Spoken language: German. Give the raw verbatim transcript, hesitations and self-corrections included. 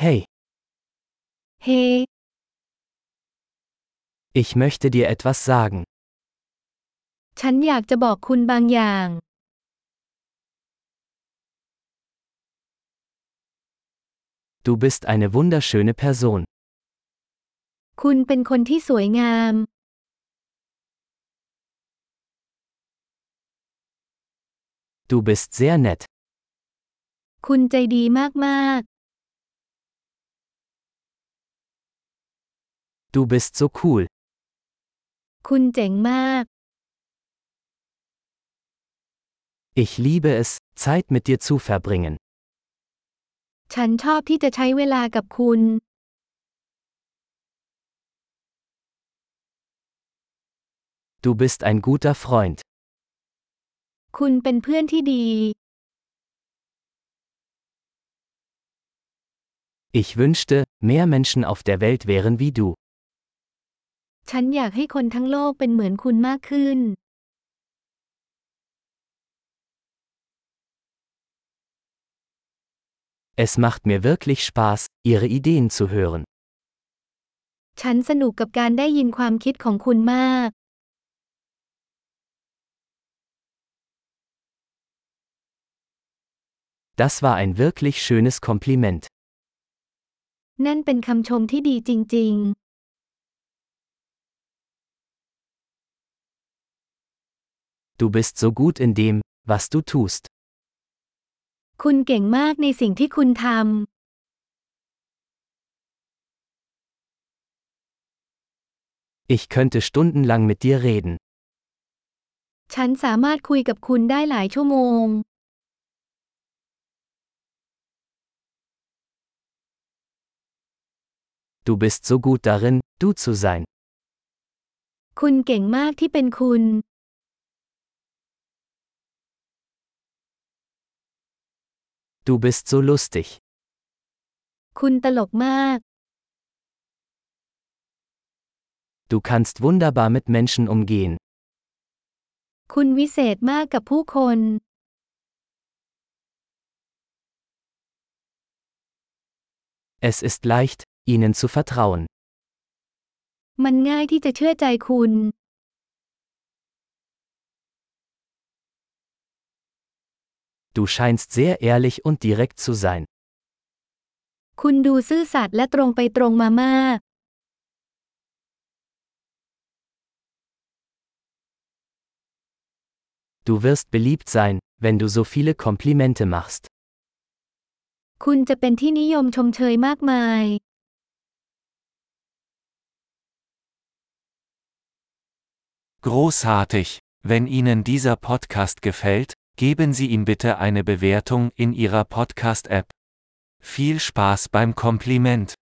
Hey, เฮ้ ich möchte dir etwas sagen. ฉันอยากจะบอกคุณบางอย่าง Du bist eine wunderschöne Person. คุณเป็นคนที่สวยงาม Du bist sehr nett. คุณใจดีมาก Du bist so cool. ๆ คุณเจ๋งมาก Ich liebe es, Zeit mit dir zu verbringen. ฉันชอบที่จะใช้เวลากับคุณ Du bist ein guter Freund. คุณเป็นเพื่อนที่ดี Ich wünschte, mehr Menschen auf der Welt wären wie du. ฉันอยากให้คนทั้งโลกเป็นเหมือนคุณมากขึ้น Es macht mir wirklich Spaß, ihre Ideen zu hören. ฉันสนุกกับการได้ยินความคิดของคุณมาก Das war ein wirklich schönes Kompliment. นั่นเป็นคำชมที่ดีจริง Du bist so gut in dem, was du tust. ๆ คุณเก่งมากในสิ่งที่คุณท Ich könnte stundenlang mit dir reden. ำ ฉันสามารถคุยกับคุณได้หลายชั่วโมง Du bist so gut darin, du zu sein. คุณเก่งมากที่เป็นคุณ Du bist so lustig. คุณตลกมาก Du kannst wunderbar mit Menschen umgehen. คุณวิเศษมากกับผู้คน Es ist leicht, ihnen zu vertrauen. มันง่ายที่จะเชื่อใจคุณ Du scheinst sehr ehrlich und direkt zu sein. คุณดูซื่อสัตย์และตรงไปตรงมามาก Du wirst beliebt sein, wenn du so viele Komplimente machst. คุณจะเป็นที่นิยมชมเชยมากมาย Großartig! Wenn Ihnen dieser Podcast gefällt, geben Sie ihm bitte eine Bewertung in Ihrer Podcast-App. Viel Spaß beim Kompliment!